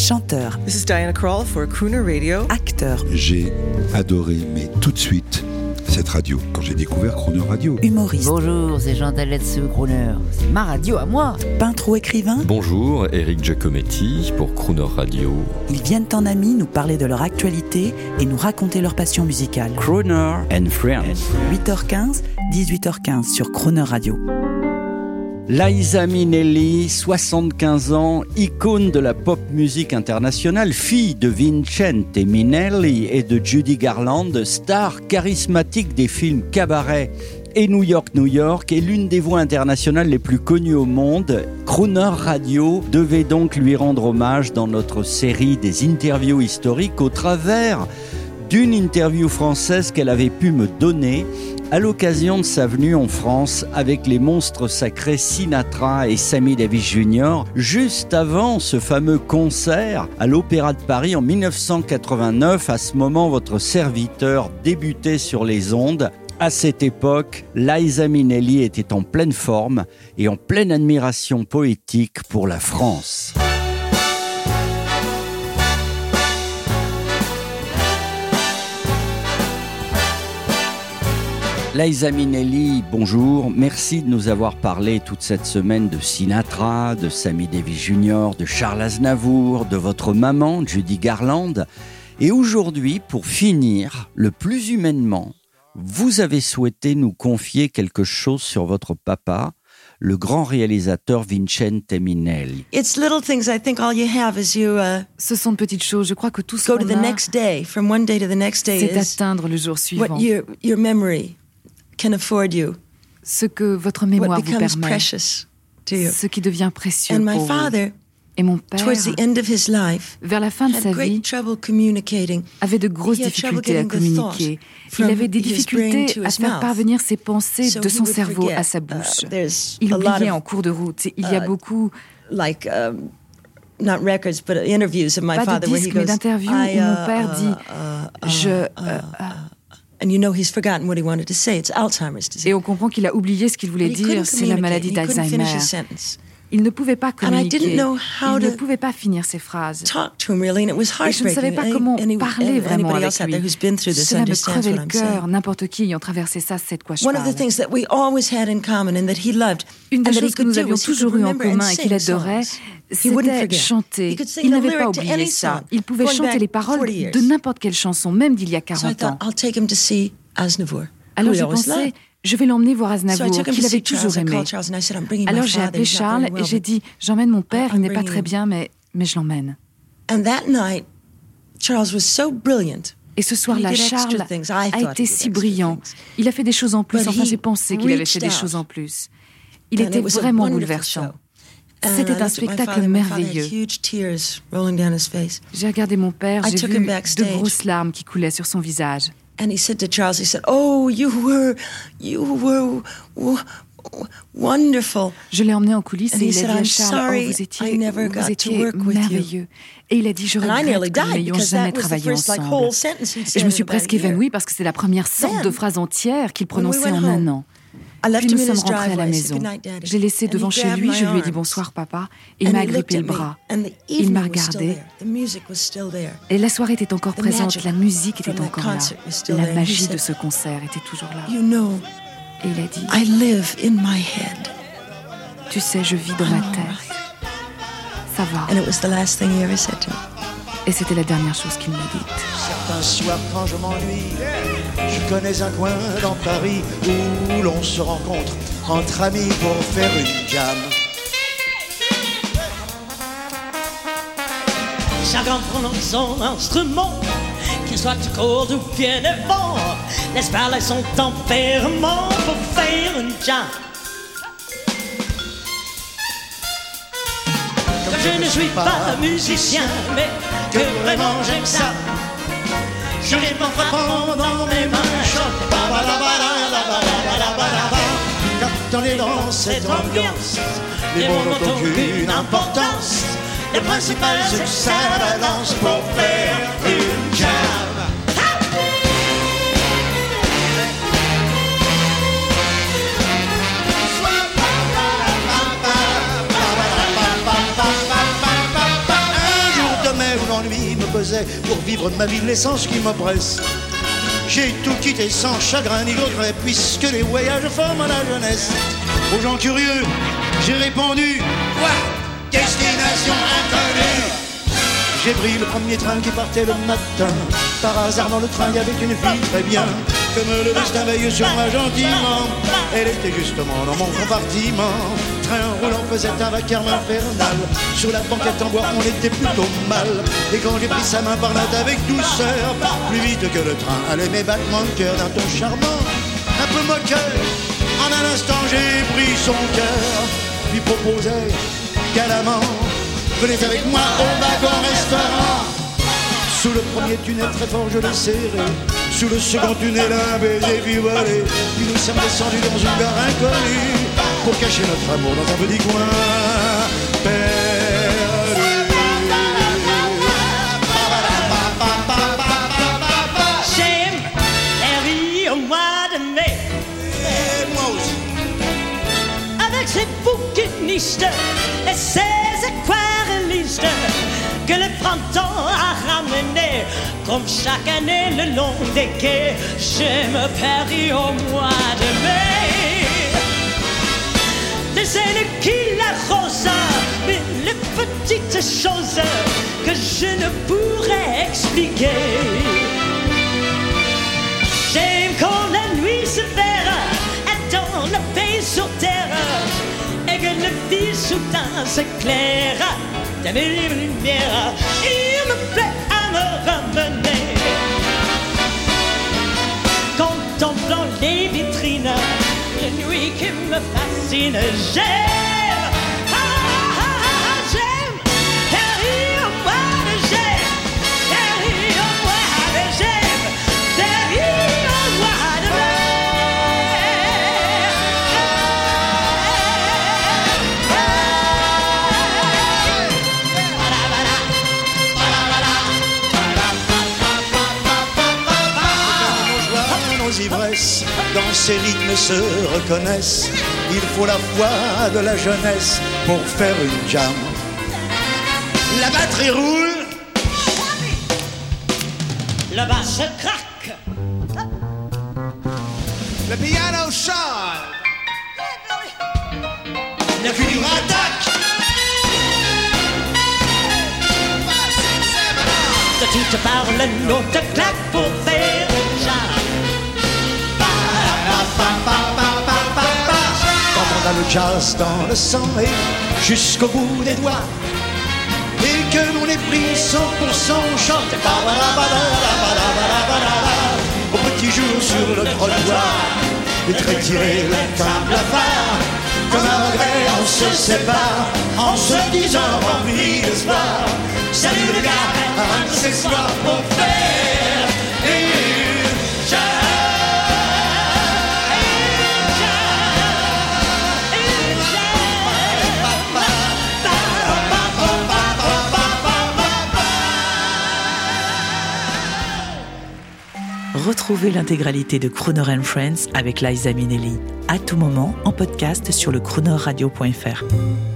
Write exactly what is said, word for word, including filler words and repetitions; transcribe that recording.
chanteur. This is Diana Krall for Crooner Radio. Acteur. J'ai adoré, mais tout de suite, cette radio, quand j'ai découvert Crooner Radio. Humoriste. Bonjour, c'est Jean Daletsu, Crooner. C'est ma radio à moi. Peintre ou écrivain. Bonjour, Eric Giacometti pour Crooner Radio. Ils viennent en amis nous parler de leur actualité et nous raconter leur passion musicale. Crooner and Friends. huit heures quinze, dix-huit heures quinze sur Crooner Radio. Liza Minnelli, soixante-quinze ans, icône de la pop musique internationale, fille de Vincente Minnelli et de Judy Garland, star charismatique des films Cabaret et New York, New York, est l'une des voix internationales les plus connues au monde. Crooner Radio devait donc lui rendre hommage dans notre série des interviews historiques au travers d'une interview française qu'elle avait pu me donner à l'occasion de sa venue en France avec les monstres sacrés Sinatra et Sammy Davis junior, juste avant ce fameux concert à l'Opéra de Paris en dix-neuf cent quatre-vingt-neuf. À ce moment, votre serviteur débutait sur les ondes. À cette époque, Liza Minnelli était en pleine forme et en pleine admiration poétique pour la France. Liza Minnelli, bonjour. Merci de nous avoir parlé toute cette semaine de Sinatra, de Sammy Davis junior, de Charles Aznavour, de votre maman, Judy Garland. Et aujourd'hui, pour finir, le plus humainement, vous avez souhaité nous confier quelque chose sur votre papa, le grand réalisateur Vincente Minnelli. It's little things. I think all you have is you uh, Ce sont de petites choses. Je crois que tout ce go qu'on to the a, next day, from one day to the next day, c'est is atteindre le jour suivant. what your your memory can afford you, Ce que votre mémoire what vous becomes permet, precious to you. ce qui devient précieux And my pour vous. father, Et mon père, towards the end of his life, vers la fin de had sa great vie, trouble communicating. avait de grosses He had trouble difficultés à getting the thought communiquer. from Il avait des his brain difficultés to à his faire mouth. parvenir ses pensées So de he son would cerveau forget. à sa bouche. Uh, there's Il a lot oubliait of, en cours de route. Il y a uh, beaucoup, like um, not records, but interviews of my pas de father where he disques, mais goes, d'interviews I, où mon uh, père dit uh, uh, je, uh, euh, uh, and you know he's forgotten what he wanted to say. It's Alzheimer's disease. et on comprend qu'il a oublié ce qu'il voulait And he couldn't dire, c'est la communicate. maladie He couldn't finish d'Alzheimer. his sentence. Il ne pouvait pas And I didn't communiquer, know how il ne to pouvait pas finir ses phrases. Talk to him really, and it was Et je ne savais heartbreaking. pas comment Any- parler any- vraiment anybody avec else out there lui. who's been through this Cela me understands crevait what le I'm cœur. saying. N'importe qui ayant traversé ça sait de quoi je One of the parle. things that we always had in common and that he loved, Une des and that he choses que could nous do avions was he could toujours eu en remember and commun et qu'il sing adorait, songs. He wouldn't c'était forget. chanter. He could sing Il the n'avait pas lyric to oublié any ça. song, Il pouvait going chanter back les paroles forty years. de n'importe quelle chanson, même d'il y a So I quarante thought, ans. I'll take him to see Aznavour. Alors who he j'ai always pensé, loved. je vais l'emmener voir So I Aznavour, took him qu'il to avait see toujours Charles. I aimé. called Charles and I said, I'm bringing my Alors j'ai father. appelé He's not Charles very et well, j'ai but- dit, j'emmène mon père, il I'm n'est pas bringing très him. bien, mais, mais je l'emmène. And that night, Charles was so brilliant. Et ce soir-là, He did extra Charles things. I a thought he été did si extra brillant. things. Il a fait des choses en plus, But enfin he j'ai pensé qu'il avait reached fait des out. choses en plus. Il And était it was a vraiment wonderful bouleversant. show. And I C'était un looked at my spectacle father, my father had merveilleux. huge tears rolling down his face. J'ai regardé mon père, I j'ai took vu him de backstage. grosses larmes qui coulaient sur son visage. And he said to Charles, he said, "Oh, you were, you were w- w- wonderful." Je l'ai emmené en coulisses And et he il a said, dit à "I'm Charles, sorry, oh, vous I étiez, never got vous to étiez work with you." merveilleux. Et il a dit, je And I nearly regrette que nous died n'ayons because jamais that was the travaillé first like ensemble. whole sentence he'd Et said je me suis in about a presque year. évanouie parce que c'est la première sorte Then, de phrase entière qu'il when we prononçait went en home, un an. I left Puis him nous in sommes his rentrés à la driveway. I said, maison. "Good night, Daddy." Je l'ai laissé And devant he chez grabbed lui, my je lui ai dit arms. bonsoir papa, et il And m'a he looked agrippé at le me, bras. and the Il evening m'a was still regardé. there. The music was still there. Et la soirée était encore The présente, magic la musique était from that encore là. concert was still La there. And he magie said, de ce concert était toujours là. "You know, Et il a dit, I live in my head." tu sais, je vis dans ma tête. Ça va. And it was the last thing he ever said to me. Et c'était la dernière chose qu'il m'a dite. Certains soirs quand je m'ennuie, je connais un coin dans Paris où l'on se rencontre entre amis pour faire une jam. Chacun prenant son instrument, qu'il soit court ou bien de vent, laisse parler son tempérament pour faire une jam. Comme je ne suis pas musicien, mais que vraiment j'aime ça, je rythme en frappant dans mes mains, chante ba ba la ba la la ba la la ba la ba. Quand on est dans cette ambiance, les mots n'ont aucune importance. Le principal c'est que ça balance pour faire une jam. faisais pour vivre ma vie, l'essence qui m'oppresse. J'ai tout quitté sans chagrin ni regret, puisque les voyages forment la jeunesse. Aux gens curieux, j'ai répondu, quoi? Destination inconnue. J'ai pris le premier train qui partait le matin. Par hasard dans le train il y avait une fille très bien. Comme le destin veille sur moi gentiment. Elle était justement dans mon compartiment. Train roulant faisait un vacarme infernal. Sur la banquette en bois on était plutôt mal. Et quand j'ai pris sa main par là avec douceur, plus vite que le train allaient mes battements de cœur d'un ton charmant, un peu moqueur. En un instant j'ai pris son cœur, lui proposais galamment, venez avec moi au wagon-restaurant. Sous le premier tunnel très fort je l'ai serré. Sous le second tunnel un baiser puis volé. Puis nous sommes descendus dans une gare inconnue pour cacher notre amour dans un petit coin perdu. J'aime la vie au mois de mai. Et moi aussi. Avec ses bouquinistes et ses aquarellistes que le printemps a ramené, comme chaque année le long des quais. J'aime Paris au mois de mai. Les ailes qui l'arrosent, mais les petites choses que je ne pourrais expliquer. J'aime quand la nuit se verra dans la paix sur terre et que le vie soudain s'éclaire de mille lumières. Il me plaît à me ramener, contemplant les vitrines, la nuit qui me fascine. J'aime, ah, ah, ah, j'aime Paris au mois de j'aime, Paris au mois de j'aime, Paris au mois de mai. Ivresses, dans ces rythmes se reconnaissent. Il faut la foi de la jeunesse pour faire une jam. La batterie roule, le basse craque, le piano chante, le cuivre attaque. De toutes parts le note claque pour faire une jam. Quand on a le jazz dans le sang et jusqu'au bout des doigts, et que l'on est pris cent pour cent, on chante au petit jour sur le trottoir, les traits tirés, le teint blafard. Comme un regret on se sépare, en se disant rempli d'espoir. Salut les gars, un de ces soirs pour faire une jam. Retrouvez l'intégralité de Crooner and Friends avec Liza Minnelli à tout moment en podcast sur le crooner radio point f r.